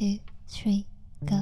2, 3, go.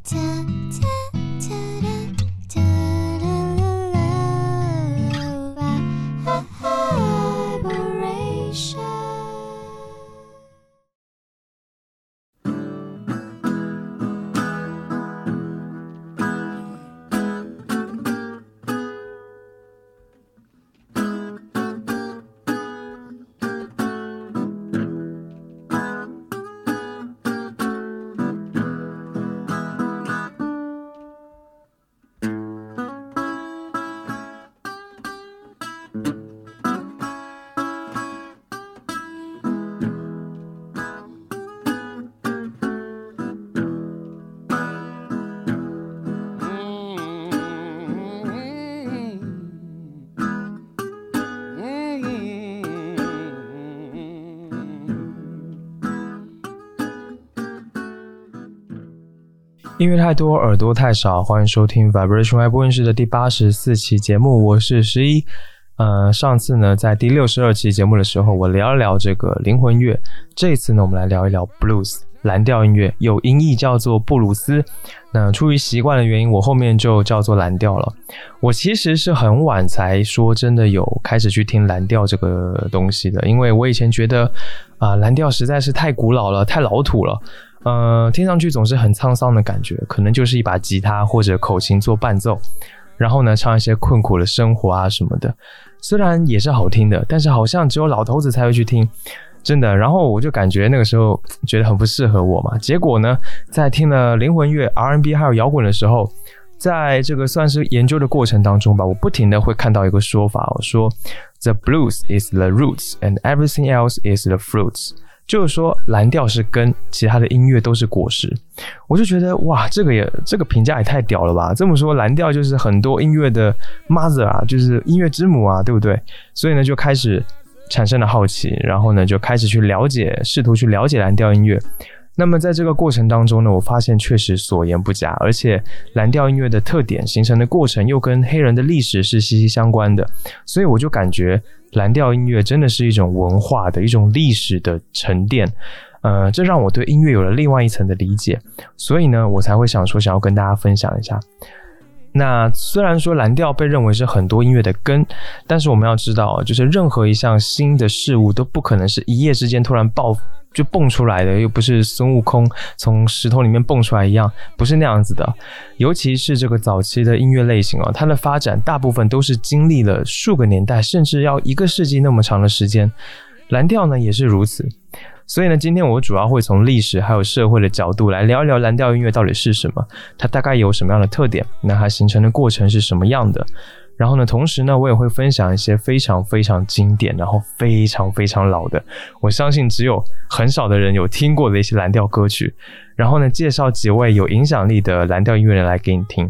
音乐太多，耳朵太少，欢迎收听 Vibration Y 播音室的第84期节目，我是11。上次呢，在第62期节目的时候，我聊一聊这个灵魂乐。这一次呢，我们来聊一聊 Blues 蓝调音乐，有音译叫做布鲁斯。那出于习惯的原因，我后面就叫做蓝调了。我其实是很晚才说真的有开始去听蓝调这个东西的，因为我以前觉得蓝调实在是太古老了，太老土了。听上去总是很沧桑的感觉，可能就是一把吉他或者口琴做伴奏，然后呢唱一些困苦的生活啊什么的，虽然也是好听的，但是好像只有老头子才会去听，真的。然后我就感觉那个时候觉得很不适合我嘛，结果呢在听了灵魂乐 R&B 还有摇滚的时候，在这个算是研究的过程当中吧，我不停的会看到一个说法，我说 The blues is the roots and everything else is the fruits，就是说蓝调是根，其他的音乐都是果实。我就觉得哇，这个评价也太屌了吧，这么说蓝调就是很多音乐的 mother 啊，就是音乐之母啊，对不对？所以呢就开始产生了好奇，然后呢就开始去了解，试图去了解蓝调音乐。那么在这个过程当中呢，我发现确实所言不假，而且蓝调音乐的特点形成的过程又跟黑人的历史是息息相关的，所以我就感觉蓝调音乐真的是一种文化的一种历史的沉淀，这让我对音乐有了另外一层的理解，所以呢我才会想要跟大家分享一下。那虽然说蓝调被认为是很多音乐的根，但是我们要知道，就是任何一项新的事物都不可能是一夜之间突然就蹦出来的，又不是孙悟空从石头里面蹦出来一样，不是那样子的。尤其是这个早期的音乐类型它的发展大部分都是经历了数个年代，甚至要1个世纪那么长的时间。蓝调呢也是如此。所以呢，今天我主要会从历史还有社会的角度来聊一聊蓝调音乐到底是什么，它大概有什么样的特点，那它形成的过程是什么样的。然后呢，同时呢，我也会分享一些非常非常经典，然后非常非常老的，我相信只有很少的人有听过的一些蓝调歌曲。然后呢，介绍几位有影响力的蓝调音乐人来给你听。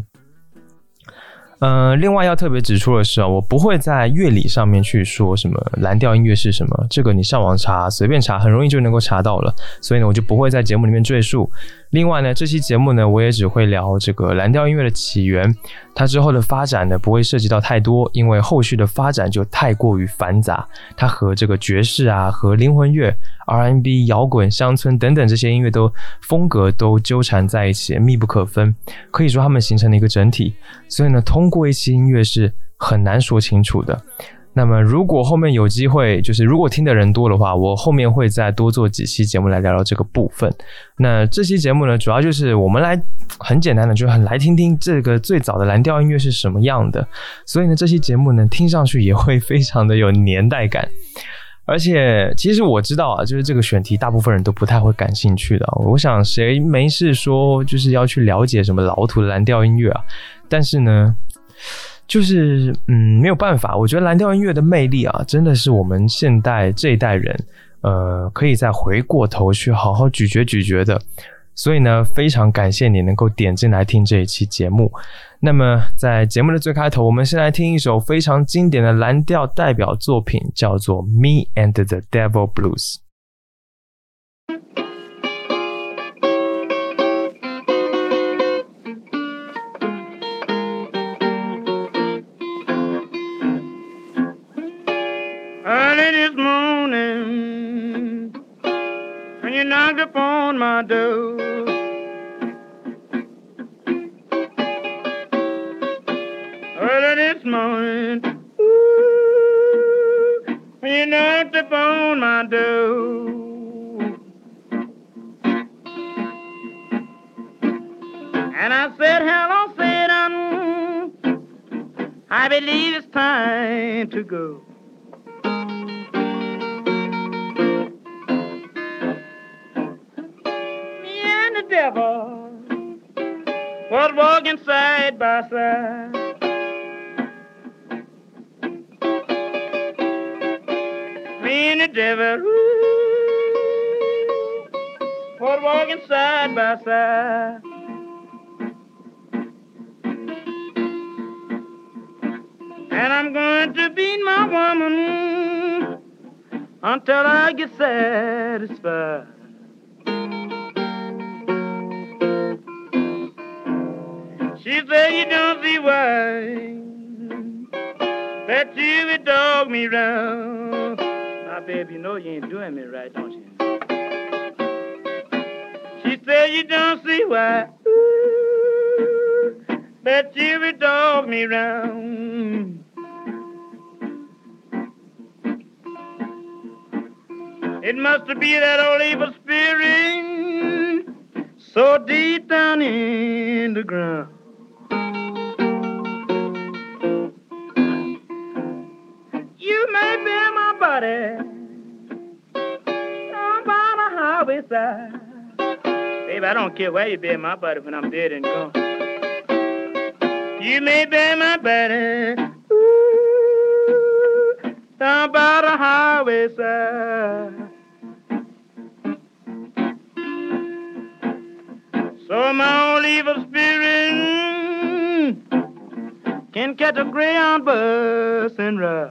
另外要特别指出的是我不会在乐理上面去说什么蓝调音乐是什么，这个你上网查随便查很容易就能够查到了，所以呢我就不会在节目里面赘述。另外呢，这期节目呢我也只会聊这个蓝调音乐的起源，它之后的发展呢不会涉及到太多，因为后续的发展就太过于繁杂，它和这个爵士啊，和灵魂乐、R&B、摇滚、乡村等等这些音乐风格都纠缠在一起，密不可分，可以说它们形成了一个整体，所以呢通过一期音乐是很难说清楚的。那么如果后面有机会，就是如果听的人多的话，我后面会再多做几期节目来聊聊这个部分。那这期节目呢，主要就是我们来很简单的，就是来听听这个最早的蓝调音乐是什么样的。所以呢，这期节目呢，听上去也会非常的有年代感。而且其实我知道就是这个选题大部分人都不太会感兴趣的。我想谁没事说就是要去了解什么老土的蓝调音乐啊？但是呢，就是没有办法，我觉得蓝调音乐的魅力真的是我们现代这一代人可以再回过头去好好咀嚼的。所以呢，非常感谢你能够点进来听这一期节目。那么在节目的最开头，我们先来听一首非常经典的蓝调代表作品，叫做 Me and the Devil Blues。Early this morning, when you knocked upon my door, you knocked upon my door. And I said, hello, Satan, I believe it's time to go. Me and the devil was walking side by side. Me and the devil was walking side by side. And I'm going to beat my woman until I get satisfied. She said, you don't see why that you would dog me round. Now, baby, you know you ain't doing me right, don't you? She said, you don't see why that you would dog me round. It must be that old evil spirit so deep down in the ground. You may bear my body down by the highway side. Baby, I don't care where you bear my body when I'm dead and gone. You may bear my body down by the highway side. So my old evil spirit can catch a Greyhound bus and ride.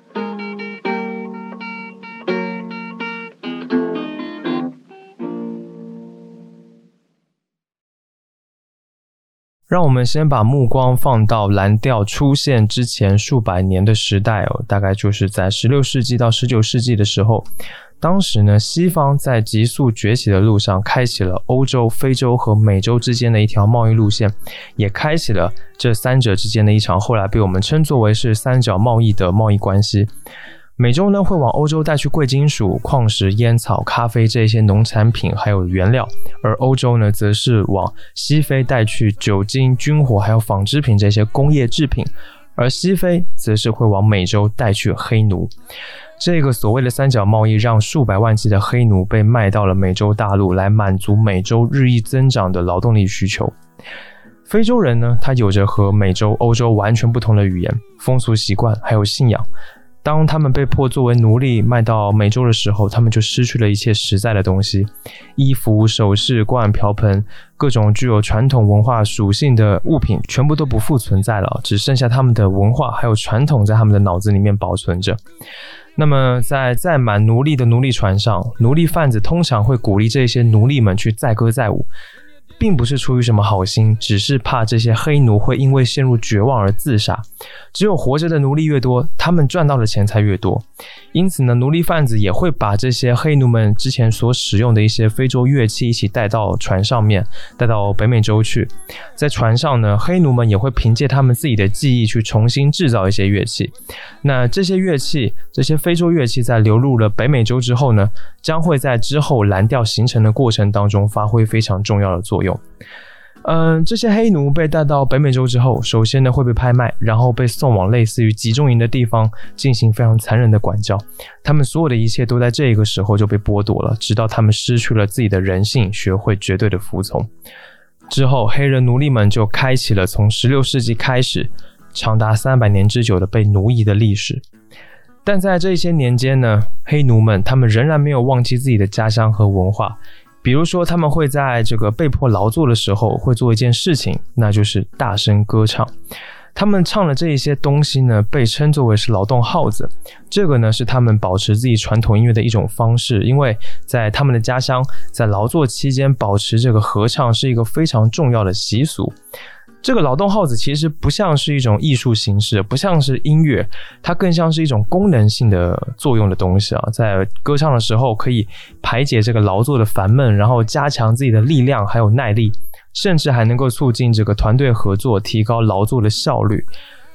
让我们先把目光放到蓝调出现之前数百年的时代哦，大概就是在16世纪到19世纪的时候。当时呢，西方在急速崛起的路上开启了欧洲、非洲和美洲之间的一条贸易路线，也开启了这三者之间的一场后来被我们称作为是三角贸易的贸易关系。美洲呢会往欧洲带去贵金属、矿石、烟草、咖啡这些农产品还有原料，而欧洲呢则是往西非带去酒精、军火还有纺织品这些工业制品，而西非则是会往美洲带去黑奴。这个所谓的三角贸易让数百万计的黑奴被卖到了美洲大陆，来满足美洲日益增长的劳动力需求。非洲人呢，他有着和美洲、欧洲完全不同的语言、风俗习惯还有信仰。当他们被迫作为奴隶卖到美洲的时候，他们就失去了一切实在的东西，衣服、首饰、锅碗瓢盆，各种具有传统文化属性的物品全部都不复存在了，只剩下他们的文化还有传统在他们的脑子里面保存着。那么在载满奴隶的奴隶船上，奴隶贩子通常会鼓励这些奴隶们去载歌载舞，并不是出于什么好心，只是怕这些黑奴会因为陷入绝望而自杀。只有活着的奴隶越多，他们赚到的钱才越多。因此呢，奴隶贩子也会把这些黑奴们之前所使用的一些非洲乐器一起带到船上面，带到北美洲去。在船上呢，黑奴们也会凭借他们自己的技艺去重新制造一些乐器。那这些乐器，这些非洲乐器在流入了北美洲之后呢，将会在之后蓝调形成的过程当中发挥非常重要的作用。这些黑奴被带到北美洲之后，首先呢会被拍卖，然后被送往类似于集中营的地方进行非常残忍的管教。他们所有的一切都在这个时候就被剥夺了，直到他们失去了自己的人性，学会绝对的服从。之后，黑人奴隶们就开启了从16世纪开始长达300年之久的被奴役的历史。但在这些年间呢，黑奴们他们仍然没有忘记自己的家乡和文化。比如说他们会在这个被迫劳作的时候会做一件事情，那就是大声歌唱。他们唱的这一些东西呢，被称作为是劳动号子。这个呢是他们保持自己传统音乐的一种方式，因为在他们的家乡，在劳作期间保持这个合唱是一个非常重要的习俗。这个劳动号子其实不像是一种艺术形式，不像是音乐，它更像是一种功能性的作用的东西啊。在歌唱的时候可以排解这个劳作的烦闷，然后加强自己的力量还有耐力，甚至还能够促进这个团队合作，提高劳作的效率。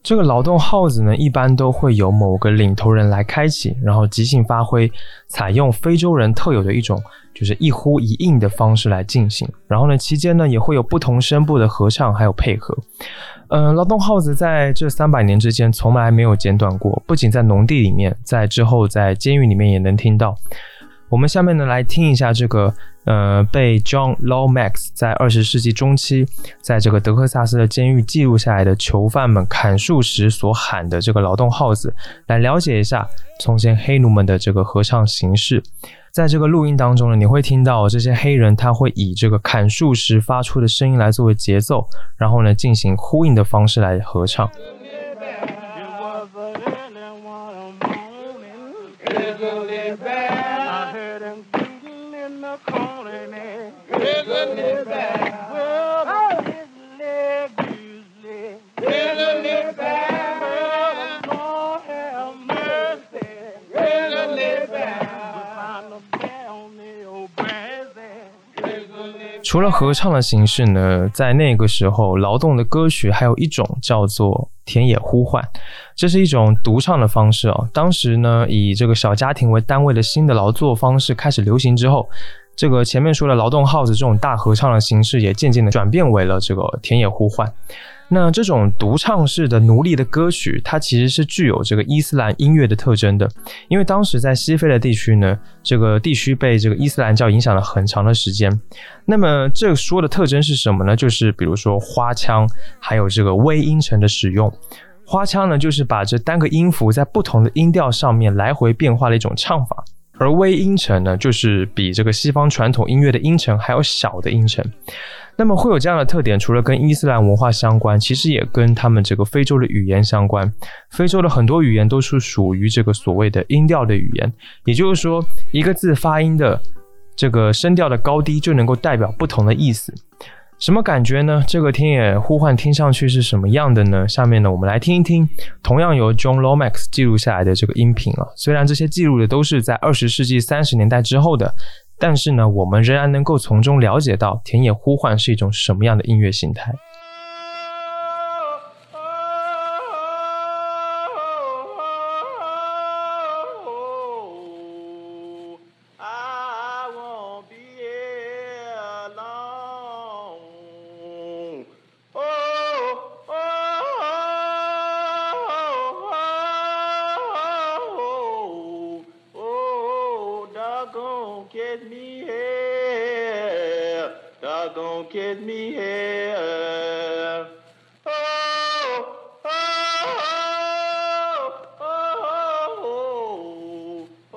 这个劳动号子呢，一般都会由某个领头人来开启，然后即兴发挥，采用非洲人特有的一种就是一呼一应的方式来进行。然后呢，期间呢也会有不同声部的合唱还有配合。劳动号子在这300年之间从来没有间断过，不仅在农地里面，在之后在监狱里面也能听到。我们下面呢来听一下这个被 John Lomax 在20世纪中期在这个德克萨斯的监狱记录下来的囚犯们砍树时所喊的这个劳动号子，来了解一下从前黑奴们的这个合唱形式。在这个录音当中呢，你会听到这些黑人他会以这个砍树时发出的声音来作为节奏，然后呢进行呼应的方式来合唱。除了合唱的形式呢，在那个时候劳动的歌曲还有一种叫做田野呼唤，这是一种独唱的方式哦。当时呢，以这个小家庭为单位的新的劳作方式开始流行之后，这个前面说的劳动号子这种大合唱的形式也渐渐的转变为了这个田野呼唤。那这种独唱式的奴隶的歌曲，它其实是具有这个伊斯兰音乐的特征的，因为当时在西非的地区呢，这个地区被这个伊斯兰教影响了很长的时间。那么这说的特征是什么呢？就是比如说花腔，还有这个微音程的使用。花腔呢，就是把这单个音符在不同的音调上面来回变化的一种唱法，而微音程呢，就是比这个西方传统音乐的音程还有小的音程。那么会有这样的特点，除了跟伊斯兰文化相关，其实也跟他们这个非洲的语言相关。非洲的很多语言都是属于这个所谓的音调的语言，也就是说一个字发音的这个声调的高低就能够代表不同的意思。什么感觉呢？这个田野呼唤听上去是什么样的呢？下面呢，我们来听一听同样由 John Lomax 记录下来的这个音频啊。虽然这些记录的都是在20世纪30年代之后的，但是呢，我们仍然能够从中了解到田野呼唤是一种什么样的音乐形态。 Kiss me here. Oh, oh, oh, oh,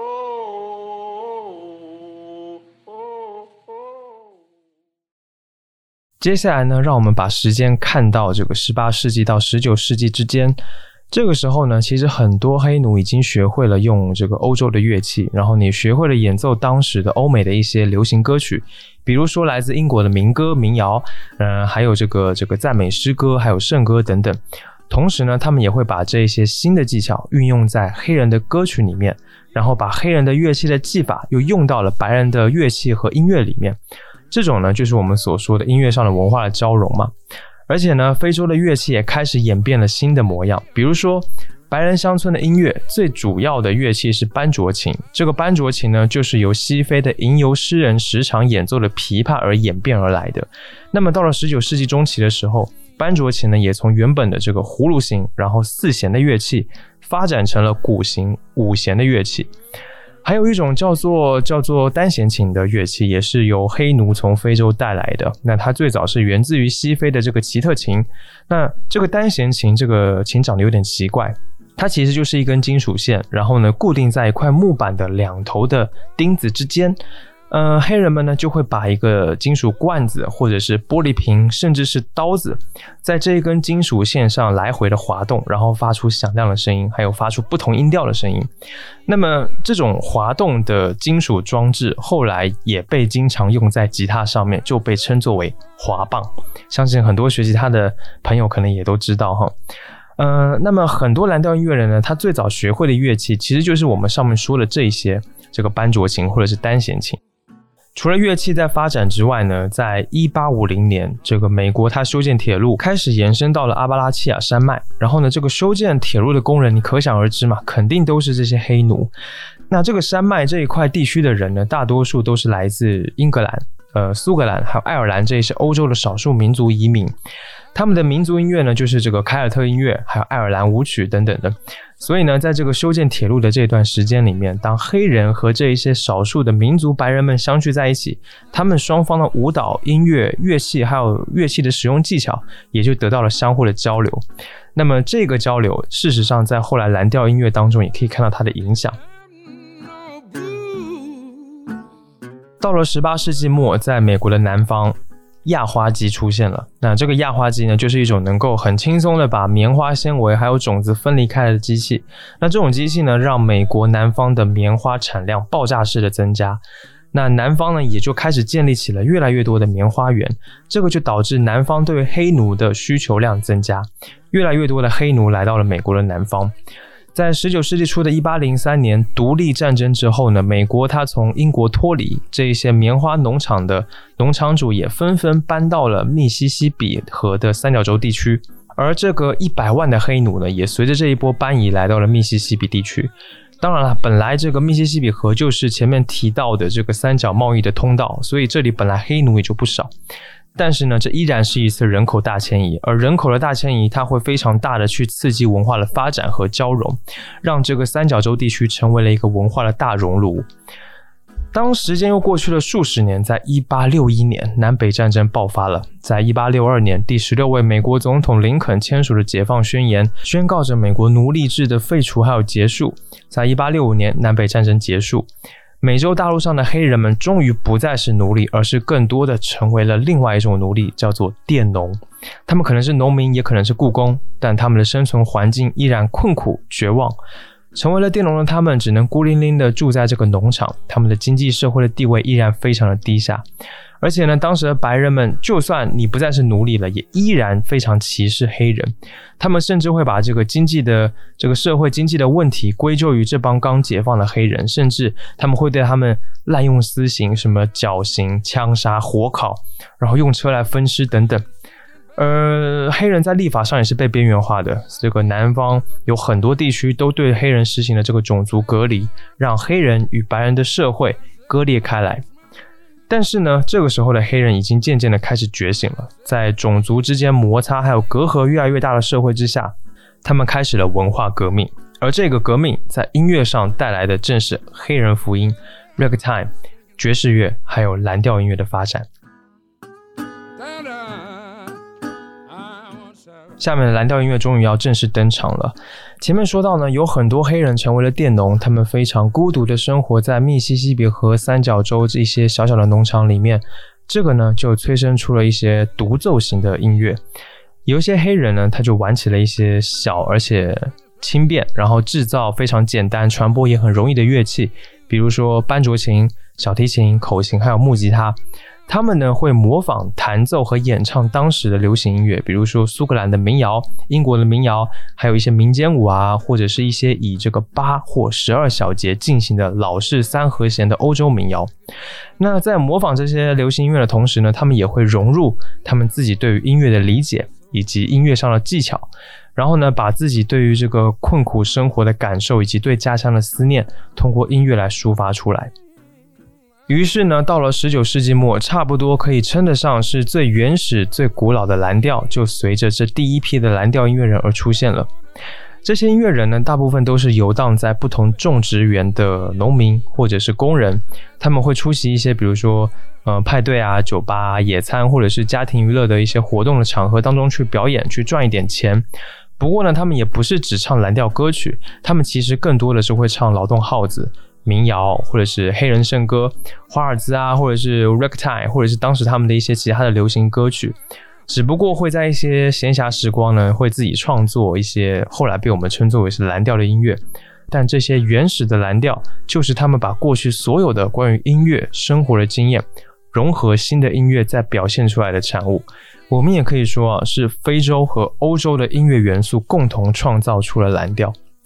oh, oh. 接下来呢，让我们把时间看到这个18世纪到19世纪之间。这个时候呢，其实很多黑奴已经学会了用这个欧洲的乐器，然后你学会了演奏当时的欧美的一些流行歌曲，比如说来自英国的民歌、民谣，还有这个赞美诗歌，还有圣歌等等。同时呢，他们也会把这些新的技巧运用在黑人的歌曲里面，然后把黑人的乐器的技法又用到了白人的乐器和音乐里面。这种呢，就是我们所说的音乐上的文化的交融嘛。而且呢，非洲的乐器也开始演变了新的模样，比如说白人乡村的音乐最主要的乐器是班卓琴，这个班卓琴呢，就是由西非的吟游诗人时常演奏的琵琶而演变而来的。那么到了19世纪中期的时候，班卓琴呢也从原本的这个葫芦形，然后4弦的乐器发展成了鼓形5弦的乐器。还有一种叫做单弦琴的乐器，也是由黑奴从非洲带来的。那它最早是源自于西非的这个奇特琴。那这个单弦琴，这个琴长得有点奇怪，它其实就是一根金属线，然后呢固定在一块木板的2头的钉子之间。黑人们呢就会把一个金属罐子或者是玻璃瓶甚至是刀子在这一根金属线上来回的滑动，然后发出响亮的声音，还有发出不同音调的声音。那么这种滑动的金属装置后来也被经常用在吉他上面，就被称作为滑棒。相信很多学吉他的朋友可能也都知道哈。那么很多蓝调音乐人呢，他最早学会的乐器其实就是我们上面说的这一些，这个班卓琴或者是单弦琴。 除了乐器在发展之外呢，在1850年，这个美国它修建铁路开始延伸到了阿巴拉契亚山脉，然后呢，这个修建铁路的工人，你可想而知嘛，肯定都是这些黑奴。那这个山脉这一块地区的人呢，大多数都是来自英格兰、苏格兰还有爱尔兰这一些欧洲的少数民族移民。他们的民族音乐呢，就是这个凯尔特音乐，还有爱尔兰舞曲等等的。所以呢，在这个修建铁路的这段时间里面，当黑人和这一些少数的民族白人们相聚在一起，他们双方的舞蹈、音乐、乐器还有乐器的使用技巧也就得到了相互的交流。那么这个交流事实上在后来蓝调音乐当中也可以看到它的影响。到了18世纪末，在美国的南方，轧花机出现了。那这个轧花机呢，就是一种能够很轻松的把棉花纤维还有种子分离开来的机器。那这种机器呢，让美国南方的棉花产量爆炸式的增加。那南方呢，也就开始建立起了越来越多的棉花园，这个就导致南方对黑奴的需求量增加，越来越多的黑奴来到了美国的南方。在19世纪初的1803年独立战争之后呢，美国它从英国脱离，这一些棉花农场的农场主也纷纷搬到了密西西比河的三角洲地区，而这个100万的黑奴呢，也随着这一波搬移来到了密西西比地区。当然了，本来这个密西西比河就是前面提到的这个三角贸易的通道，所以这里本来黑奴也就不少。但是呢，这依然是一次人口大迁移，而人口的大迁移它会非常大的去刺激文化的发展和交融，让这个三角洲地区成为了一个文化的大熔炉。当时间又过去了数十年，在1861年南北战争爆发了。在1862年，第16位美国总统林肯签署了解放宣言，宣告着美国奴隶制的废除还有结束。在1865年南北战争结束，美洲大陆上的黑人们终于不再是奴隶，而是更多的成为了另外一种奴隶，叫做佃农。他们可能是农民，也可能是雇工，但他们的生存环境依然困苦绝望。成为了佃农的他们只能孤零零的住在这个农场，他们的经济社会的地位依然非常的低下。而且呢，当时的白人们就算你不再是奴隶了，也依然非常歧视黑人。他们甚至会把这个社会经济的问题归咎于这帮刚解放的黑人，甚至他们会对他们滥用私刑，什么绞刑、枪杀、火烤，然后用车来分尸等等。黑人在立法上也是被边缘化的，这个南方有很多地区都对黑人实行了这个种族隔离，让黑人与白人的社会割裂开来。但是呢，这个时候的黑人已经渐渐的开始觉醒了，在种族之间摩擦还有隔阂越来越大的社会之下，他们开始了文化革命。而这个革命在音乐上带来的正是黑人福音、ragtime、爵士乐还有蓝调音乐的发展。下面的蓝调音乐终于要正式登场了。前面说到呢，有很多黑人成为了佃农，他们非常孤独的生活在密西西比河三角洲这些小小的农场里面，这个呢就催生出了一些独奏型的音乐。有一些黑人呢，他就玩起了一些小而且轻便，然后制造非常简单、传播也很容易的乐器，比如说班卓琴、小提琴、口琴还有木吉他。他们呢会模仿弹奏和演唱当时的流行音乐，比如说苏格兰的民谣、英国的民谣，还有一些民间舞啊，或者是一些以这个8或12小节进行的老式3和弦的欧洲民谣。那在模仿这些流行音乐的同时呢，他们也会融入他们自己对于音乐的理解以及音乐上的技巧，然后呢把自己对于这个困苦生活的感受以及对家乡的思念通过音乐来抒发出来。于是呢，到了19世纪末，差不多可以称得上是最原始、最古老的蓝调，就随着这第一批的蓝调音乐人而出现了。这些音乐人呢，大部分都是游荡在不同种植园的农民或者是工人，他们会出席一些比如说派对啊、酒吧啊、野餐或者是家庭娱乐的一些活动的场合当中去表演，去赚一点钱。不过呢，他们也不是只唱蓝调歌曲，他们其实更多的是会唱劳动号子、民谣或者是黑人圣歌、华尔兹啊，或者是 ragtime， 或者是当时他们的一些其他的流行歌曲，只不过会在一些闲暇时光呢，会自己创作一些后来被我们称作为是蓝调的音乐。但这些原始的蓝调就是他们把过去所有的关于音乐生活的经验融合新的音乐再表现出来的产物。我们也可以说是非洲和欧洲的音乐元素共同创造出了蓝调。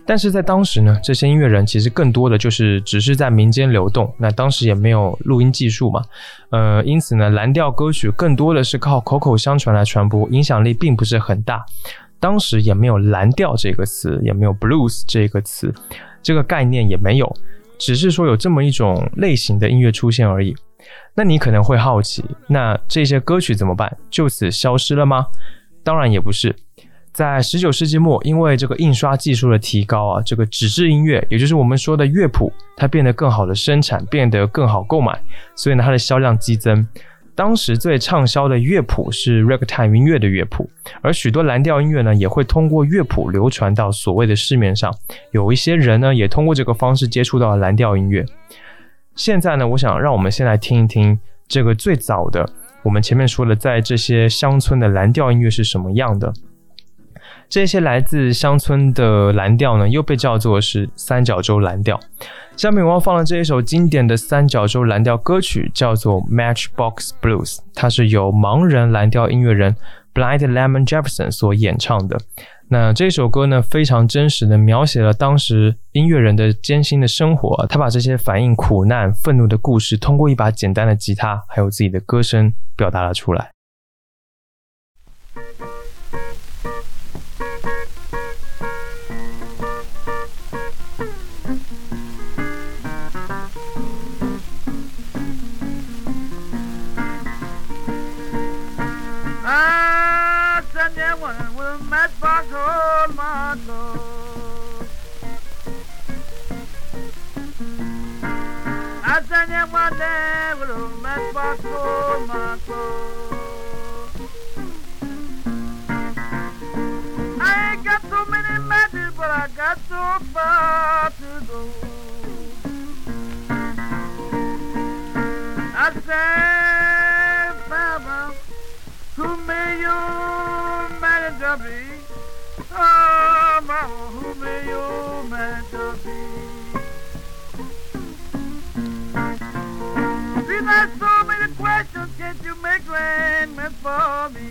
但是在当时呢，这些音乐人其实更多的就是只是在民间流动，那当时也没有录音技术嘛，因此呢，蓝调歌曲更多的是靠口口相传来传播，影响力并不是很大。当时也没有蓝调这个词，也没有 blues 这个词，这个概念也没有，只是说有这么一种类型的音乐出现而已。那你可能会好奇，那这些歌曲怎么办？就此消失了吗？当然也不是。在19世纪末，因为这个印刷技术的提高啊，这个纸质音乐，也就是我们说的乐谱，它变得更好的生产，变得更好购买，所以呢，它的销量激增。当时最畅销的乐谱是 ragtime 音乐的乐谱，而许多蓝调音乐呢，也会通过乐谱流传到所谓的市面上。有一些人呢，也通过这个方式接触到了蓝调音乐。现在呢，我想让我们先来听一听这个最早的，我们前面说的，在这些乡村的蓝调音乐是什么样的。这些来自乡村的蓝调呢，又被叫做是三角洲蓝调。下面我要放的这一首经典的三角洲蓝调歌曲叫做 Matchbox Blues， 它是由盲人蓝调音乐人 Blind Lemon Jefferson 所演唱的。那这首歌呢，非常真实的描写了当时音乐人的艰辛的生活，他把这些反映苦难、愤怒的故事，通过一把简单的吉他，还有自己的歌声表达了出来。 Matchbox hold my clothes. I send you one day with a matchbox hold my clothes. I ain't got so many matches, but I got so far to go. I say, Baba, who may you manage to be? Oh, Mama, who may you manage to be? See, there's so many questions, can't you make arrangements for me?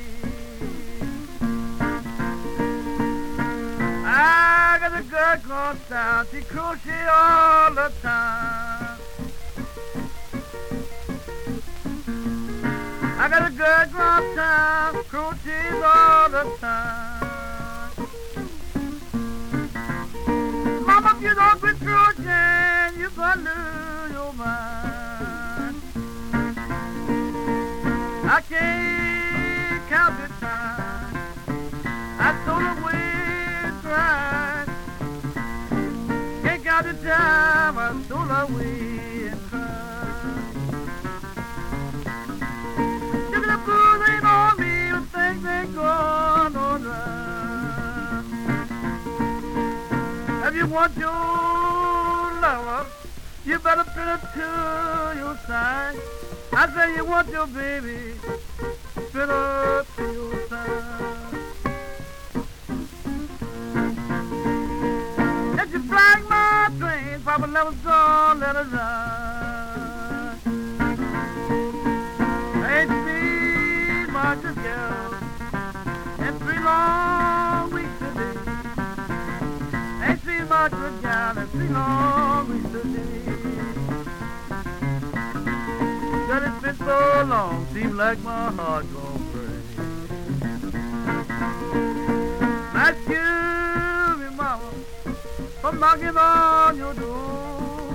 I got a girl called Town, she crochet all the time. I got a girl called Town, crochets all the time. Mama, if you don't quit crocheting, you're gonna lose your mind. I can't count the time I told her we tried. Can't count the time I told her we tried. If the blues ain't on me, the things ain't going on right. If you want your lover, you better put it to your side. I say you want your baby, put her to your side. If you flag my train, Papa never gonna let it ride. I ain't seen much of girl in 3 long weeks today. Ain't seen much of girl in 3 long weeks today. But it's been so long, seems like my heart gon' break. Excuse me, mama, I'm knocking on your door.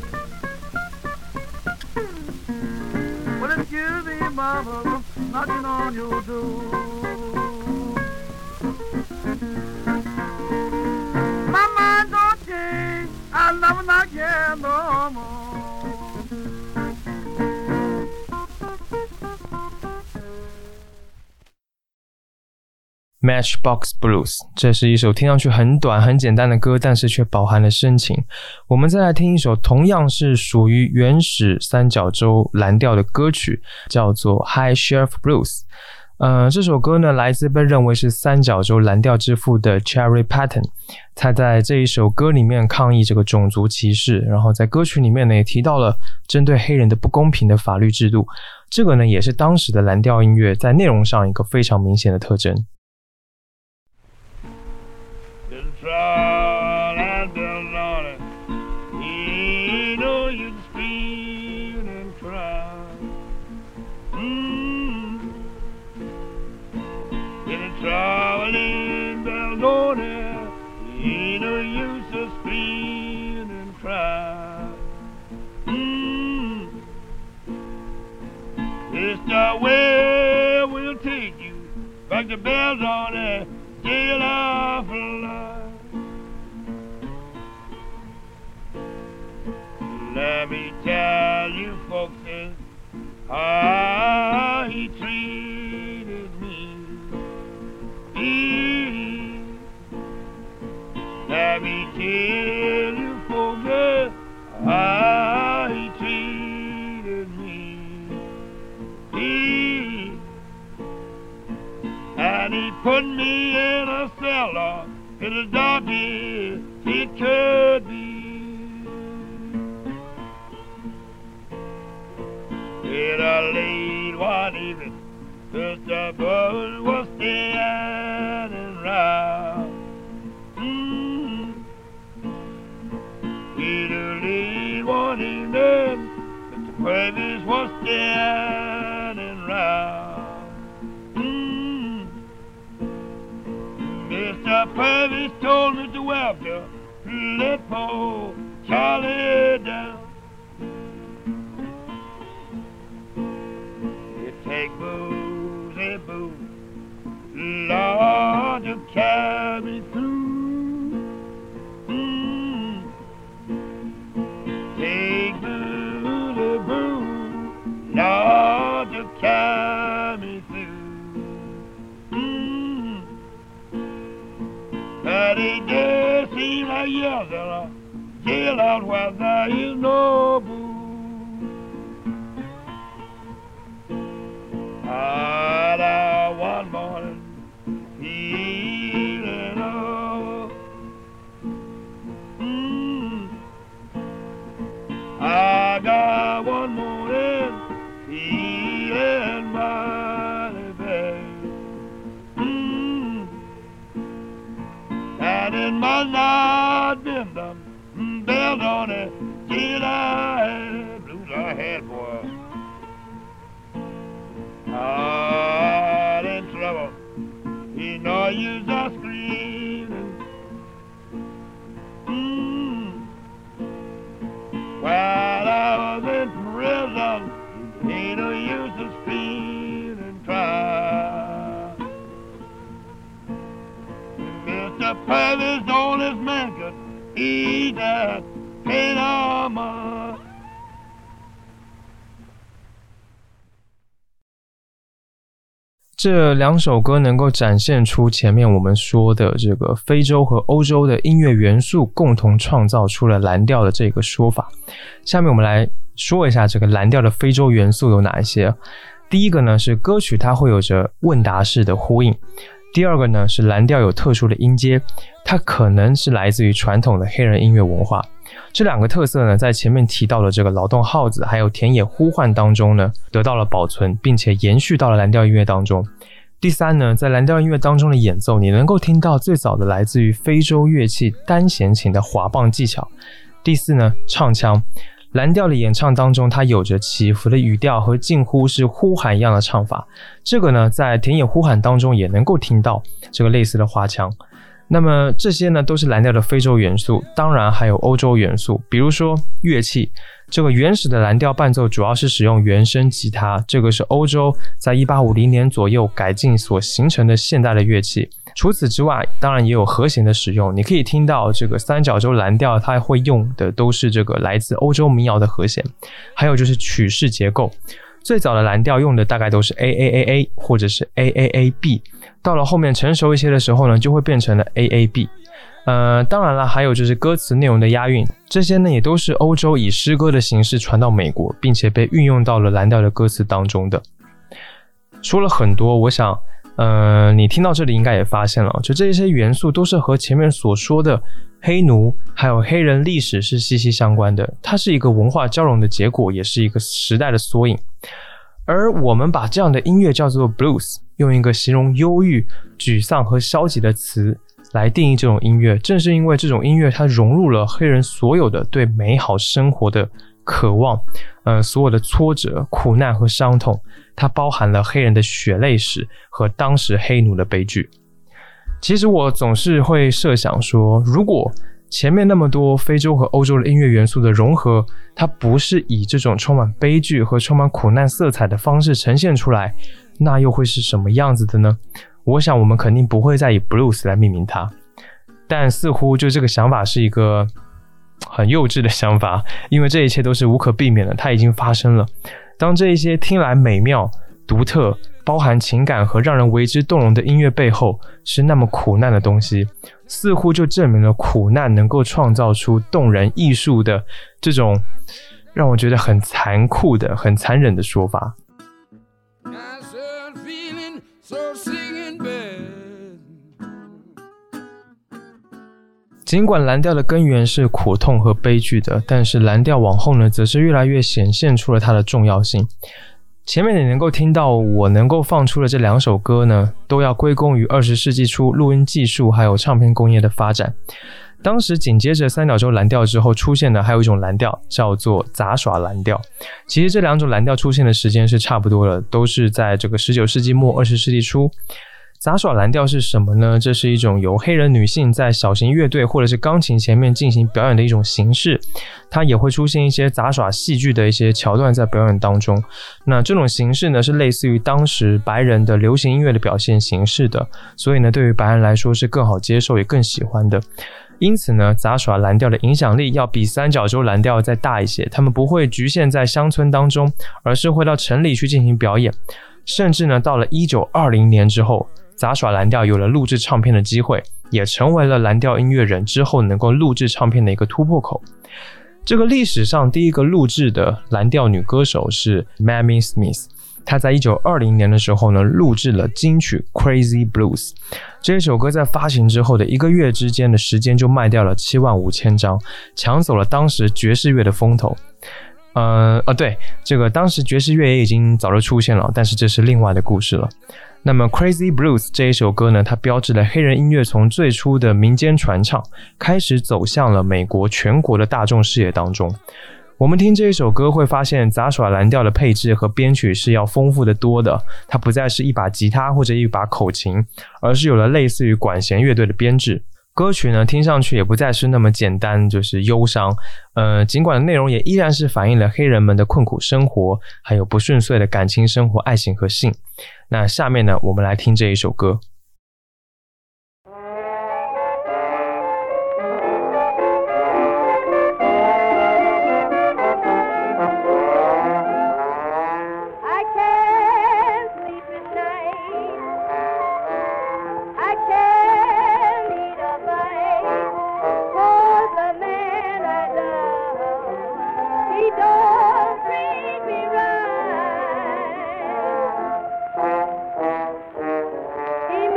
Well, excuse me, mama, I'm knocking on your door. My mind don't change, I'll never knock here no more. Matchbox Blues， 这是一首听上去很短很简单的歌，但是却饱含了深情。我们再来听一首同样是属于原始三角洲蓝调的歌曲，叫做 High Sheriff Blues。这首歌呢，来自被认为是三角洲蓝调之父的 Cherry Patton。他在这一首歌里面抗议这个种族歧视，然后在歌曲里面呢也提到了针对黑人的不公平的法律制度。这个呢也是当时的蓝调音乐在内容上一个非常明显的特征。 Trouble traveling bells on it, ain't no use of scream and cry. It's the way we'll take you back to bells on it, jail of life. Let me tell you folks how he treated me. Let me tell you folks how he treated me. And he put me in a cellar as dark as it could be. In a late one evening, just a bird was standing round. In a late one evening, Mr. Purvis was standing round. Mr. Purvis told Mr. Welker to let poor Charlie down. Take booze and booze, Lord, to carry me through. Take booze and booze, Lord, to carry me through. But it does seem like years in a jailhouse where there is no booze. One morning, feeling up. I got one morning, feeling mighty bad. And it must not been them bells on it, till I had blues I had, boy. Hard in trouble, he no use of screaming. While I was in prison, ain't no use of screaming, try. Mr. Purvis, oldest man could eat that pain on my. 这两首歌能够展现出前面我们说的这个非洲和欧洲的音乐元素共同创造出了蓝调的这个说法。下面我们来说一下这个蓝调的非洲元素有哪一些。第一个呢是歌曲它会有着问答式的呼应。第二个呢是蓝调有特殊的音阶，它可能是来自于传统的黑人音乐文化。这两个特色呢在前面提到的这个劳动号子还有田野呼唤当中呢得到了保存，并且延续到了蓝调音乐当中。第三呢，在蓝调音乐当中的演奏，你能够听到最早的来自于非洲乐器单弦琴的滑棒技巧。第四呢，唱腔，蓝调的演唱当中它有着起伏的语调和近乎是呼喊一样的唱法，这个呢在田野呼喊当中也能够听到这个类似的花腔。那么这些呢都是蓝调的非洲元素，当然还有欧洲元素，比如说乐器。这个原始的蓝调伴奏主要是使用原声吉他，这个是欧洲在1850年左右改进所形成的现代的乐器。除此之外，当然也有和弦的使用，你可以听到这个三角洲蓝调它会用的都是这个来自欧洲民谣的和弦，还有就是曲式结构。最早的蓝调用的大概都是 AAAA 或者是 AAAB， 到了后面成熟一些的时候呢，就会变成了 AAB。当然了，还有就是歌词内容的押韵，这些呢也都是欧洲以诗歌的形式传到美国，并且被运用到了蓝调的歌词当中的。说了很多，我想你听到这里应该也发现了，就这些元素都是和前面所说的黑奴还有黑人历史是息息相关的，它是一个文化交融的结果，也是一个时代的缩影。而我们把这样的音乐叫做 blues， 用一个形容忧郁、沮丧和消极的词来定义这种音乐，正是因为这种音乐它融入了黑人所有的对美好生活的渴望，所有的挫折、苦难和伤痛，它包含了黑人的血泪史和当时黑奴的悲剧。其实我总是会设想说，如果前面那么多非洲和欧洲的音乐元素的融合，它不是以这种充满悲剧和充满苦难色彩的方式呈现出来，那又会是什么样子的呢？我想我们肯定不会再以 blues 来命名它，但似乎就这个想法是一个很幼稚的想法，因为这一切都是无可避免的，它已经发生了。当这一些听来美妙、独特、包含情感和让人为之动容的音乐背后是那么苦难的东西，似乎就证明了苦难能够创造出动人艺术的这种让我觉得很残酷的、很残忍的说法。尽管蓝调的根源是苦痛和悲剧的，但是蓝调往后呢，则是越来越显现出了它的重要性。前面你能够听到我能够放出的这2首歌呢，都要归功于20世纪初录音技术还有唱片工业的发展。当时紧接着三角洲蓝调之后出现的还有一种蓝调叫做杂耍蓝调。其实这2种蓝调出现的时间是差不多的，都是在这个19世纪末20世纪初。杂耍蓝调是什么呢？这是一种由黑人女性在小型乐队或者是钢琴前面进行表演的一种形式，它也会出现一些杂耍戏剧的一些桥段在表演当中。那这种形式呢，是类似于当时白人的流行音乐的表现形式的，所以呢，对于白人来说是更好接受也更喜欢的。因此呢，杂耍蓝调的影响力要比三角洲蓝调再大一些，他们不会局限在乡村当中，而是会到城里去进行表演。甚至呢，到了1920年之后，杂耍蓝调有了录制唱片的机会，也成为了蓝调音乐人之后能够录制唱片的一个突破口。这个历史上第一个录制的蓝调女歌手是 Mamie Smith， 她在1920年的时候呢，录制了金曲 Crazy Blues。 这首歌在发行之后的1个月之间的时间就卖掉了75000张，抢走了当时爵士乐的风头。对，这个当时爵士乐也已经早就出现了，但是这是另外的故事了。那么 Crazy Blues 这一首歌呢，它标志了黑人音乐从最初的民间传唱开始走向了美国全国的大众视野当中。我们听这一首歌会发现杂耍蓝调的配置和编曲是要丰富的多的，它不再是一把吉他或者一把口琴，而是有了类似于管弦乐队的编制。歌曲呢，听上去也不再是那么简单，就是忧伤。尽管内容也依然是反映了黑人们的困苦生活，还有不顺遂的感情生活、爱情和性。那下面呢，我们来听这一首歌。 He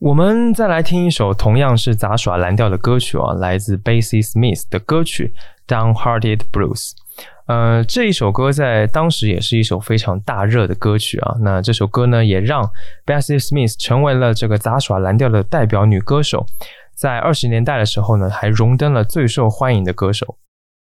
我们再来听一首同样是杂耍蓝调的歌曲啊，来自 Bessie Smith 的歌曲 Downhearted Blues。这一首歌在当时也是一首非常大热的歌曲啊。那这首歌呢，也让 Bessie Smith 成为了这个杂耍蓝调的代表女歌手。在20年代的时候呢，还荣登了最受欢迎的歌手。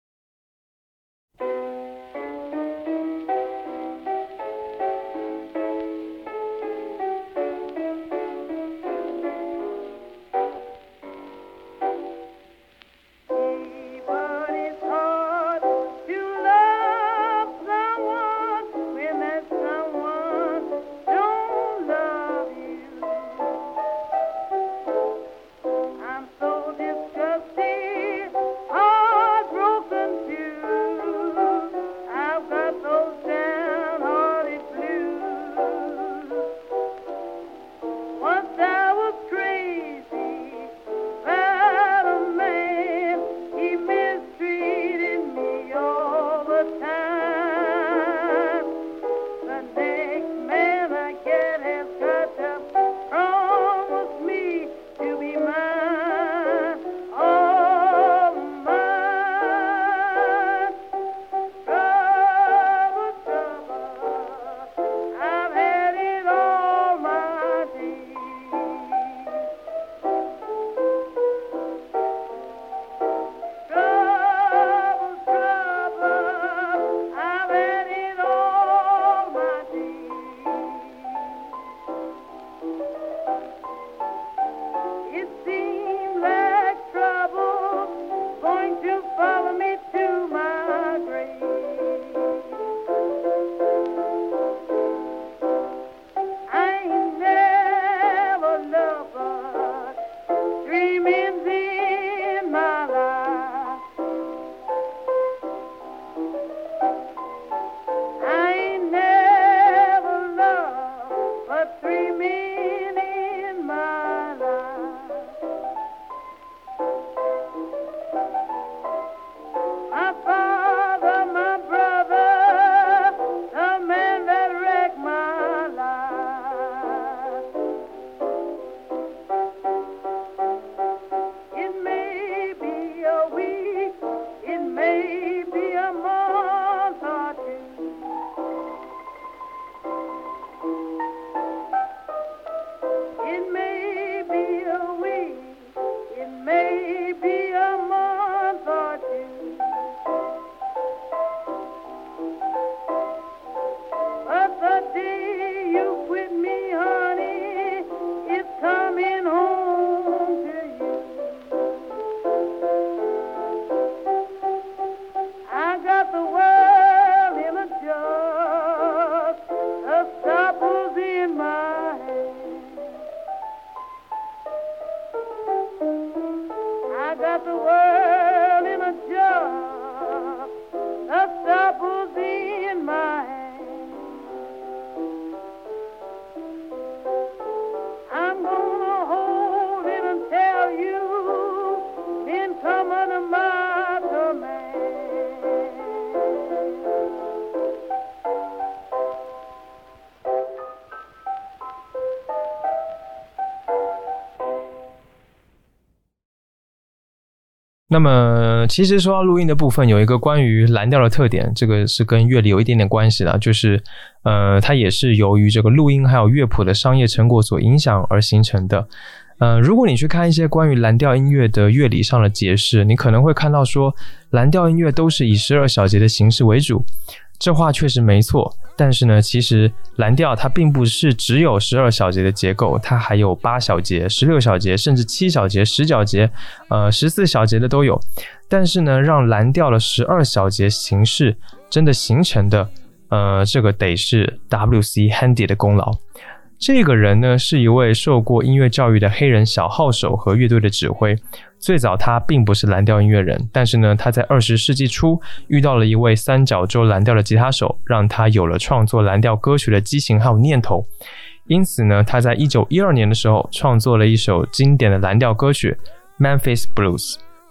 那么其实说到录音的部分，有一个关于蓝调的特点，这个是跟乐理有一点点关系的，就是它也是由于这个录音还有乐谱的商业成果所影响而形成的。如果你去看一些关于蓝调音乐的乐理上的解释，你可能会看到说蓝调音乐都是以12小节的形式为主，这话确实没错，但是呢，其实蓝调它并不是只有12小节的结构，它还有8小节、16小节，甚至7小节、10小节、14小节的都有。但是呢，让蓝调的12小节形式真的形成的，这个得是 W.C. Handy 的功劳。这个人呢，是一位受过音乐教育的黑人小号手和乐队的指挥。最早他并不是蓝调音乐人，但是呢，他在20世纪初遇到了一位三角洲蓝调的吉他手，让他有了创作蓝调歌曲的激情还有念头。因此呢，他在1912年的时候创作了一首经典的蓝调歌曲 Memphis Blues。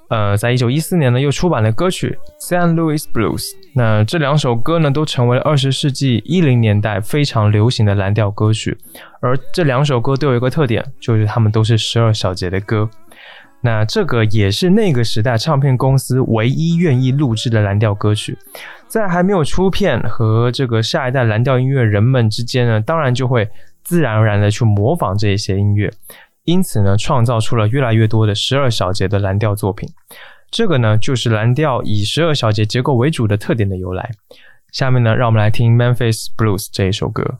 在1914年呢又出版了歌曲 St. Louis Blues。 那这2首歌呢都成为了20世纪10年代非常流行的蓝调歌曲，而这2首歌都有一个特点，就是他们都是12小节的歌。那这个也是那个时代唱片公司唯一愿意录制的蓝调歌曲。在还没有出片和这个下一代蓝调音乐人们之间呢，当然就会自然而然的去模仿这些音乐，因此呢创造出了越来越多的12小节的蓝调作品。这个呢就是蓝调以12小节结构为主的特点的由来。下面呢让我们来听 Memphis Blues 这一首歌。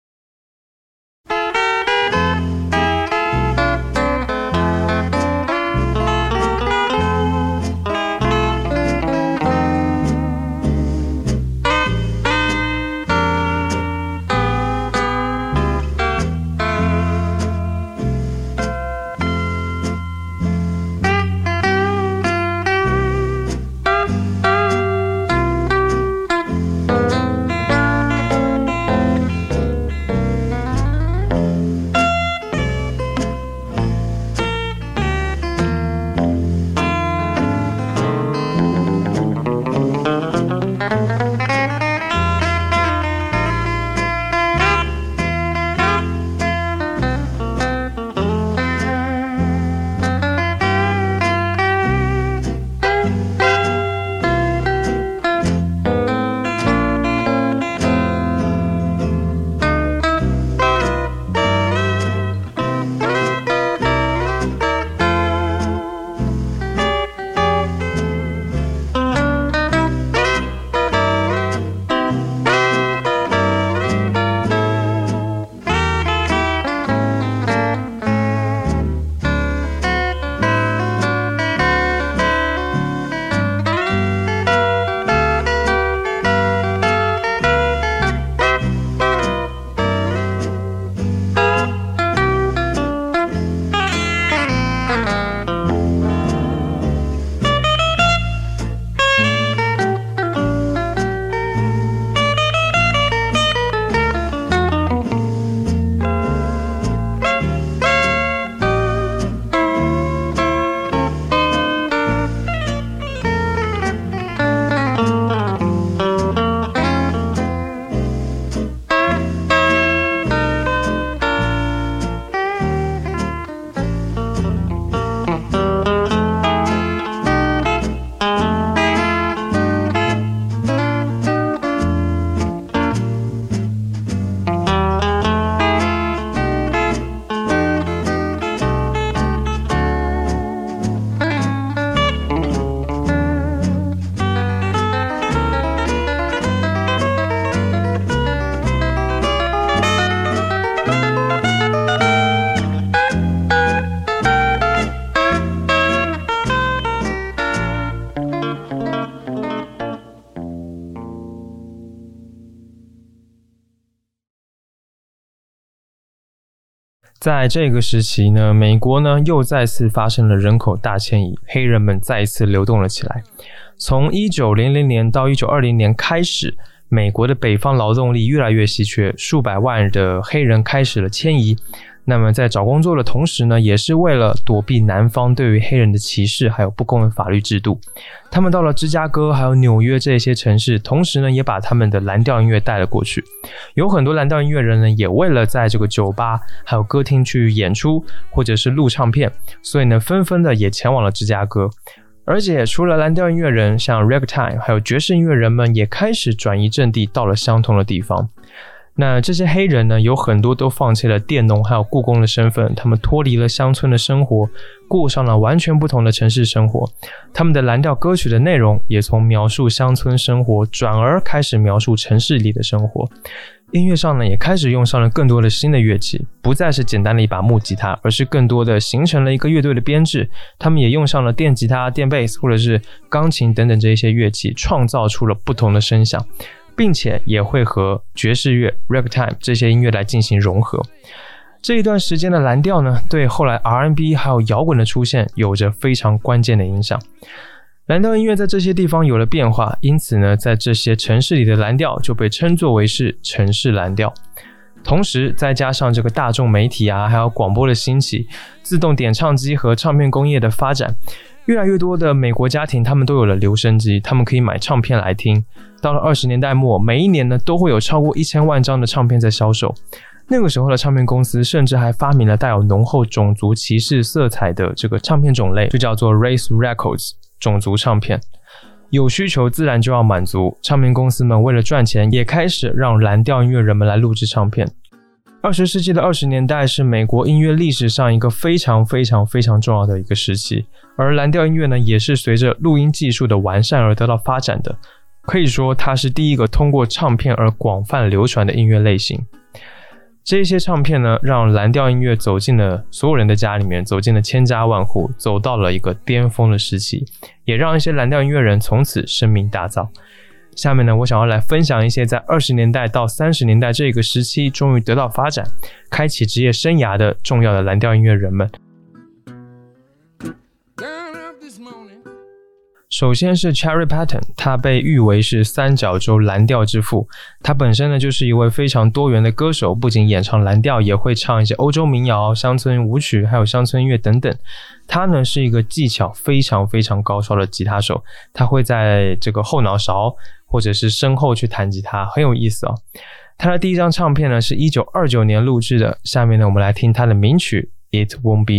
在这个时期呢，美国呢又再次发生了人口大迁移，黑人们再一次流动了起来。从1900年到1920年开始，美国的北方劳动力越来越稀缺，数百万的黑人开始了迁移。那么在找工作的同时呢，也是为了躲避南方对于黑人的歧视还有不公的法律制度。他们到了芝加哥还有纽约这些城市，同时呢也把他们的蓝调音乐带了过去。有很多蓝调音乐人呢也为了在这个酒吧还有歌厅去演出或者是录唱片，所以呢纷纷的也前往了芝加哥。而且除了蓝调音乐人，像 ragtime 还有爵士音乐人们也开始转移阵地到了相同的地方。那这些黑人呢，有很多都放弃了佃农还有雇工的身份，他们脱离了乡村的生活，过上了完全不同的城市生活。他们的蓝调歌曲的内容也从描述乡村生活转而开始描述城市里的生活。音乐上呢，也开始用上了更多的新的乐器，不再是简单的一把木吉他，而是更多的形成了一个乐队的编制。他们也用上了电吉他、电贝斯或者是钢琴等等这一些乐器，创造出了不同的声响，并且也会和爵士乐、ragtime 这些音乐来进行融合。这一段时间的蓝调呢，对后来 R&B 还有摇滚的出现有着非常关键的影响。蓝调音乐在这些地方有了变化，因此呢，在这些城市里的蓝调就被称作为是城市蓝调。同时再加上这个大众媒体啊，还有广播的兴起，自动点唱机和唱片工业的发展， 越来越多的美国家庭他们都有了留声机，他们可以买唱片来听。到了20年代末，每一年呢都会有超过1000万张的唱片在销售。那个时候的唱片公司甚至还发明了带有浓厚种族歧视色彩的这个唱片种类，就叫做 Race Records 种族唱片。有需求自然就要满足，唱片公司们为了赚钱也开始让蓝调音乐人们来录制唱片。20世纪的20年代是美国音乐历史上一个非常非常非常重要的一个时期，而蓝调音乐呢也是随着录音技术的完善而得到发展的，可以说它是第一个通过唱片而广泛流传的音乐类型。这些唱片呢让蓝调音乐走进了所有人的家里面，走进了千家万户，走到了一个巅峰的时期，也让一些蓝调音乐人从此声名大噪。下面呢，我想要来分享一些在20年代到30年代这个时期终于得到发展，开启职业生涯的重要的蓝调音乐人们。首先是 Cherry Patton， 他被誉为是三角洲蓝调之父。他本身呢就是一位非常多元的歌手，不仅演唱蓝调，也会唱一些欧洲民谣、乡村舞曲，还有乡村音乐等等。他呢是一个技巧非常非常高超的吉他手，他会在这个后脑勺或者是身后去弹吉他，很有意思哦。他的第一张唱片呢是1929年录制的，下面呢我们来听他的名曲 It Won't Be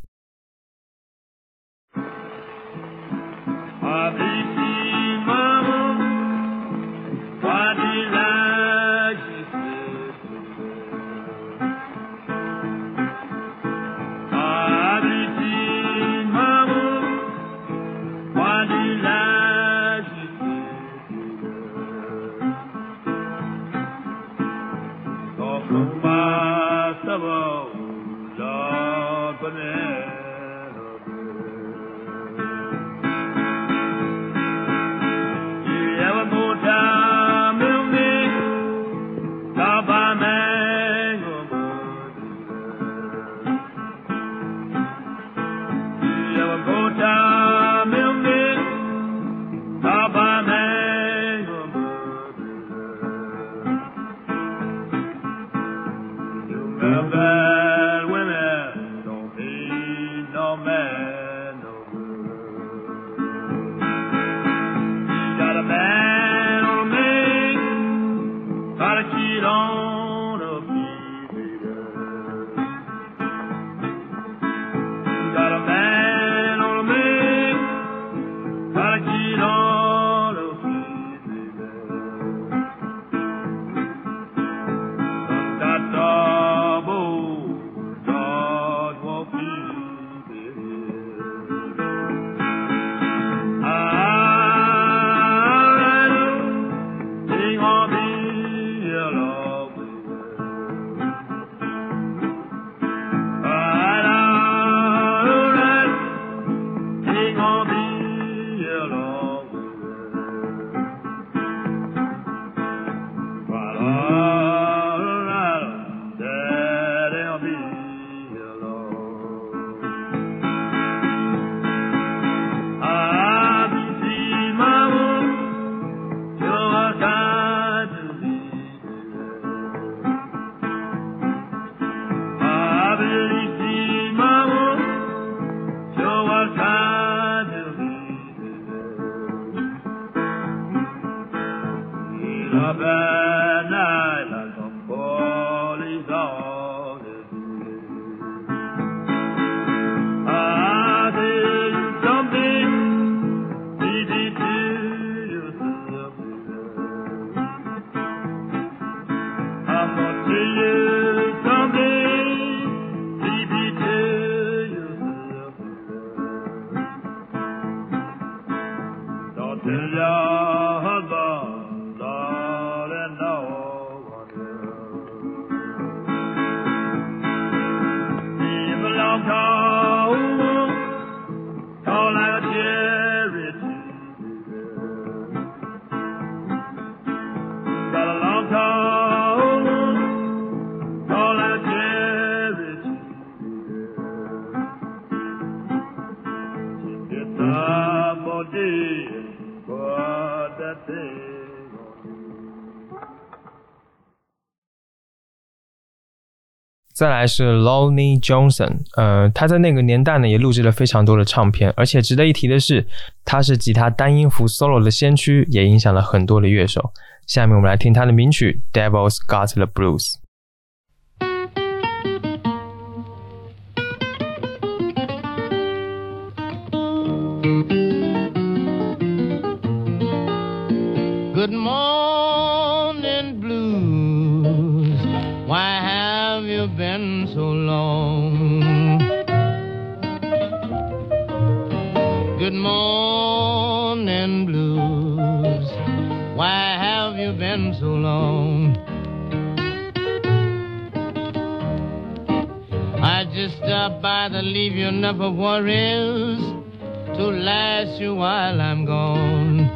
Long 再来是 Lonnie Johnson， 他在那个年代呢也录制了非常多的唱片，而且值得一提的是，他是吉他单音符 solo 的先驱，也影响了很多的乐手。下面我们来听他的名曲 Devil's Got the Blues。Good morning, blues. Why have you been so long? Good morning, blues. Why have you been so long? I just stopped by to leave you enough of worries to last you while I'm gone.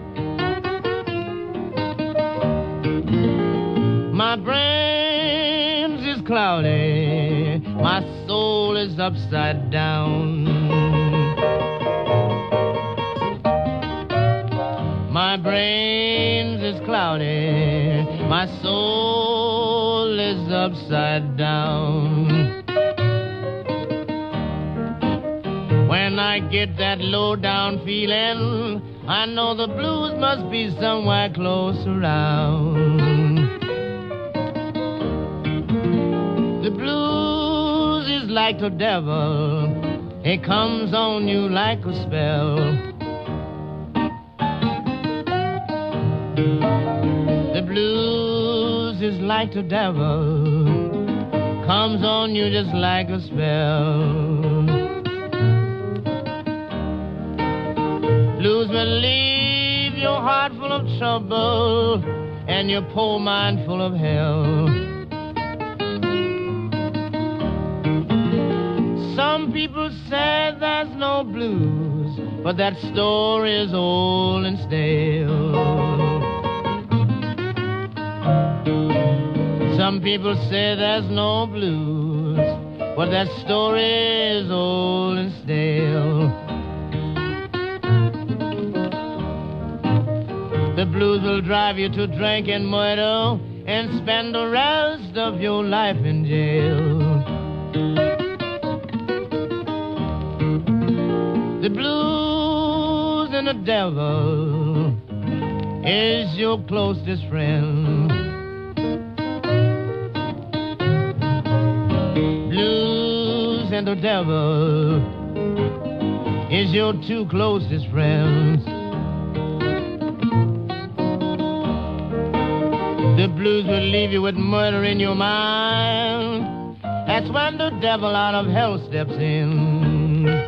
My brain is cloudy, my soul is upside down. My brain is cloudy, my soul is upside down. When I get that low down feeling, I know the blues must be somewhere close around. The blues is like the devil, it comes on you like a spell. The blues is like the devil, comes on you just like a spell. Blues will leave your heart full of trouble and your poor mind full of hell. Some people say there's no blues, but that story is old and stale. Some people say there's no blues, but that story is old and stale. The blues will drive you to drink and murder and spend the rest of your life in jail. The blues and the devil is your closest friend. Blues and the devil is your two closest friends. The blues will leave you with murder in your mind. That's when the devil out of hell steps in.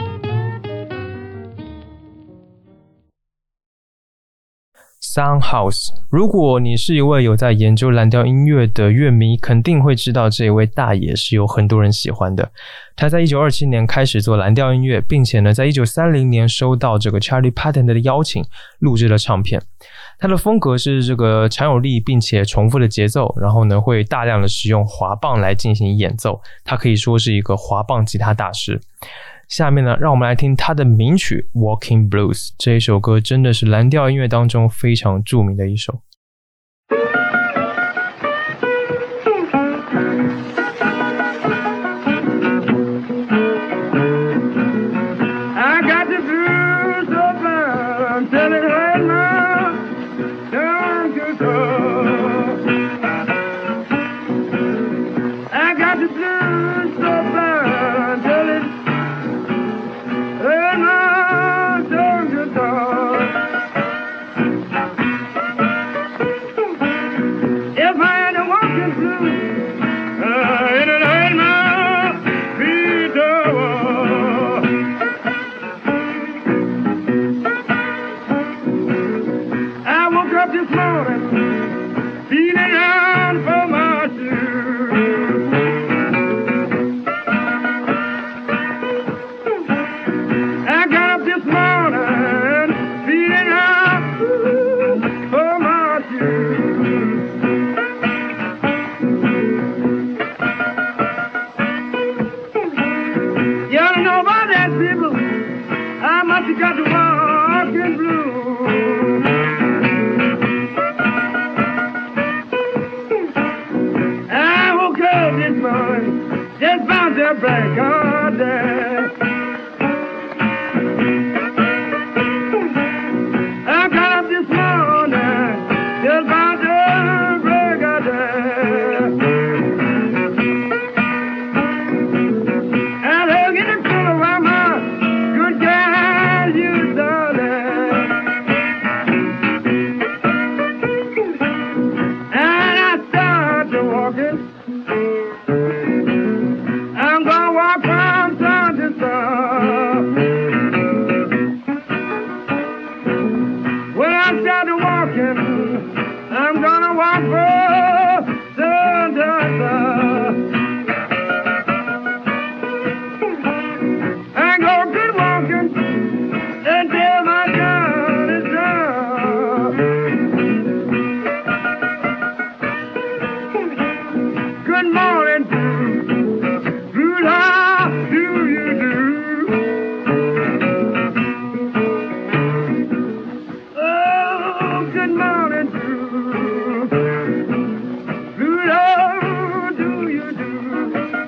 Soundhouse， 如果你是一位有在研究蓝调音乐的乐迷，肯定会知道这一位大爷是有很多人喜欢的。他在1927年开始做蓝调音乐，并且呢，在1930年收到这个 Charlie Patton 的邀请，录制了唱片。他的风格是这个强有力并且重复的节奏，然后呢，会大量的使用滑棒来进行演奏。他可以说是一个滑棒吉他大师。下面呢，让我们来听他的名曲 Walking Blues， 这一首歌真的是蓝调音乐当中非常著名的一首。 black garden. I got up this morning, just about the break of day. And I'm getting full of my good guys, you darling. And I start to walking. I'm gonna walk from sun to sun. When I start to walking, I'm gonna walk from sun to sun. I go good walking until my gun is done. Good morning, Rude, how do you do? Oh, good morning, Rude, how do you do?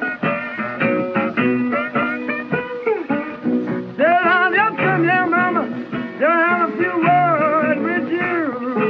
Said I'll just come here, mama, to have a few words with you.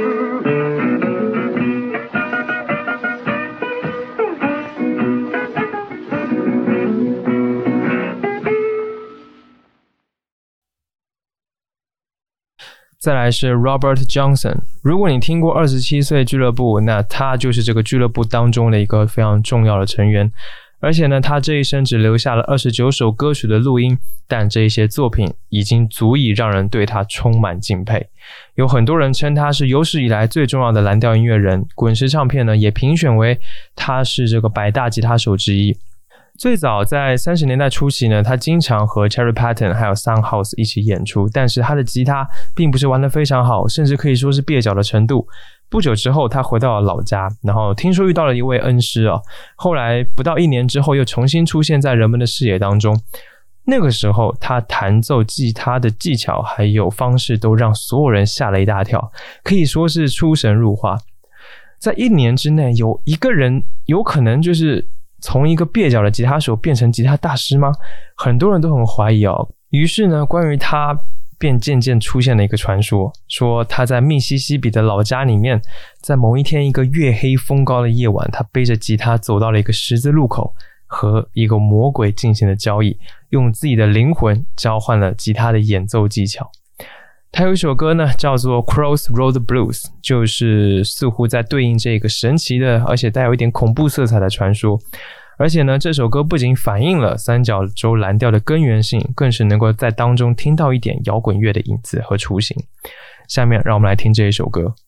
再来是 Robert Johnson， 如果你听过27岁俱乐部，那他就是这个俱乐部当中的一个非常重要的成员，而且呢，他这一生只留下了29首歌曲的录音，但这一些作品已经足以让人对他充满敬佩。有很多人称他是有史以来最重要的蓝调音乐人，滚石唱片呢也评选为他是这个100大吉他手之一。最早在30年代初期呢，他经常和 Cherry Patton 还有 Soundhouse 一起演出，但是他的吉他并不是玩得非常好，甚至可以说是蹩脚的程度。不久之后他回到了老家，然后听说遇到了一位恩师后来不到1年之后又重新出现在人们的视野当中。那个时候他弹奏吉他的技巧还有方式都让所有人吓了一大跳，可以说是出神入化。在1年之内有一个人有可能就是从一个蹩脚的吉他手变成吉他大师吗？很多人都很怀疑于是呢，关于他便渐渐出现了一个传说，说他在密西西比的老家里面，在某一天一个月黑风高的夜晚，他背着吉他走到了一个十字路口，和一个魔鬼进行了交易，用自己的灵魂交换了吉他的演奏技巧。他有一首歌呢叫做 Crossroad Blues， 就是似乎在对应这个神奇的而且带有一点恐怖色彩的传说。而且呢，这首歌不仅反映了三角洲蓝调的根源性，更是能够在当中听到一点摇滚乐的影子和雏形。下面让我们来听这一首歌。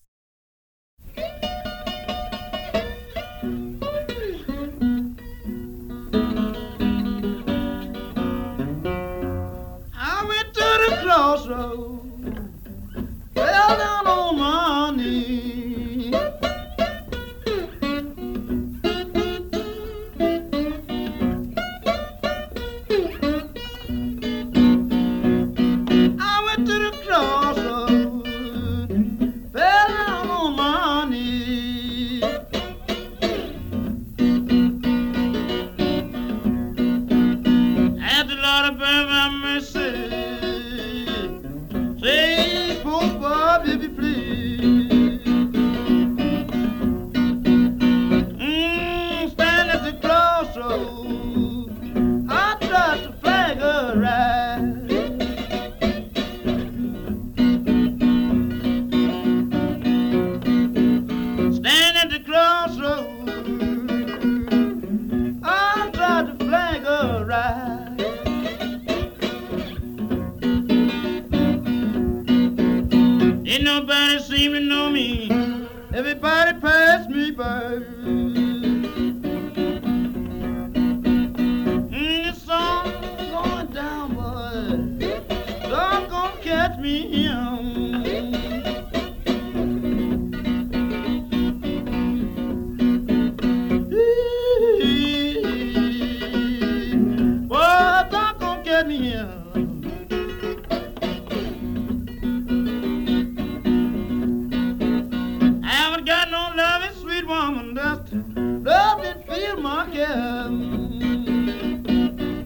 Fell down on my knee. I went to the crossroad, fell down on my knee. Had the Lord of my mercy, say, Bob, if you please. Stand at the crossroad, I tried to flag her right. Stand at the crossroad, I tried to flag her right. Ain't nobody seem to know me. Everybody pass me by. The song going down, boy. Song gonna catch me boy, song gonna catch me woman that love and feel my care.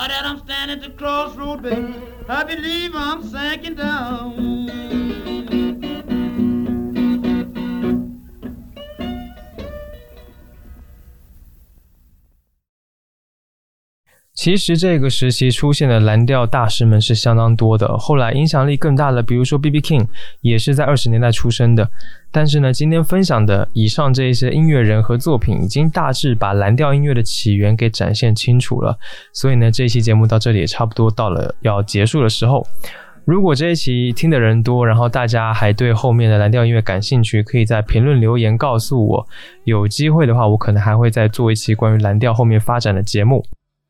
that I'm standing at the crossroad, baby, I believe I'm sinking down. 其实这个时期出现的蓝调大师们是相当多的，后来影响力更大的，比如说 B.B. King 也是在20年代出生的。但是呢，今天分享的以上这一些音乐人和作品已经大致把蓝调音乐的起源给展现清楚了，所以呢，这一期节目到这里也差不多到了要结束的时候。如果这一期听的人多，然后大家还对后面的蓝调音乐感兴趣，可以在评论留言告诉我，有机会的话我可能还会再做一期关于蓝调后面发展的节目。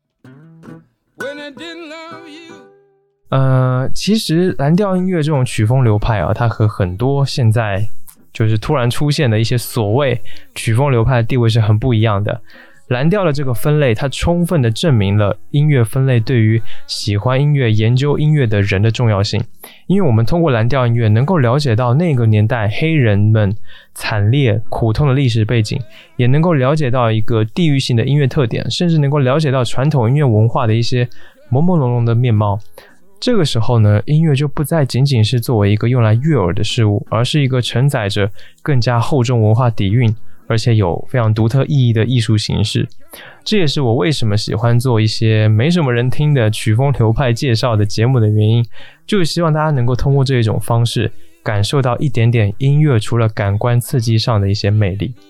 其实蓝调音乐这种曲风流派啊，它和很多现在就是突然出现的一些所谓曲风流派的地位是很不一样的。蓝调的这个分类，它充分的证明了音乐分类对于喜欢音乐、研究音乐的人的重要性。因为我们通过蓝调音乐能够了解到那个年代黑人们惨烈苦痛的历史背景，也能够了解到一个地域性的音乐特点，甚至能够了解到传统音乐文化的一些朦朦胧胧的面貌。这个时候呢，音乐就不再仅仅是作为一个用来悦耳的事物，而是一个承载着更加厚重文化底蕴，而且有非常独特意义的艺术形式。这也是我为什么喜欢做一些没什么人听的曲风流派介绍的节目的原因，就是希望大家能够通过这种方式感受到一点点音乐除了感官刺激上的一些魅力。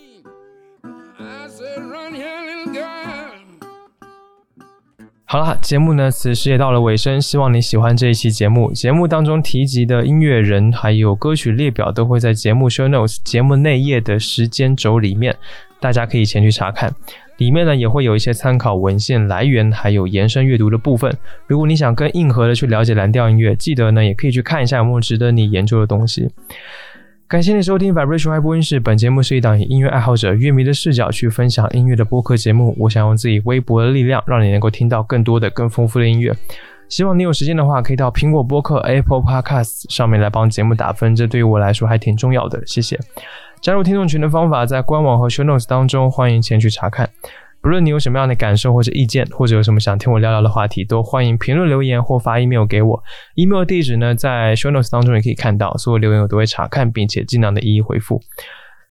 好了，节目呢此时也到了尾声，希望你喜欢这一期节目。节目当中提及的音乐人还有歌曲列表都会在节目 show notes 节目内页的时间轴里面，大家可以前去查看。里面呢也会有一些参考文献来源还有延伸阅读的部分。如果你想更硬核的去了解蓝调音乐，记得呢也可以去看一下有没有值得你研究的东西。感谢你收听 Vibration Y 播音室，本节目是一档以音乐爱好者、乐迷的视角去分享音乐的播客节目。我想用自己微薄的力量，让你能够听到更多的、更丰富的音乐。希望你有时间的话，可以到苹果播客 Apple Podcast 上面来帮节目打分，这对于我来说还挺重要的，谢谢。加入听众群的方法在官网和 show notes 当中，欢迎前去查看。不论你有什么样的感受或者意见，或者有什么想听我聊聊的话题，都欢迎评论留言或发 email 给我。email 地址呢在 show notes 当中也可以看到，所有留言我都会查看并且尽量的一一回复。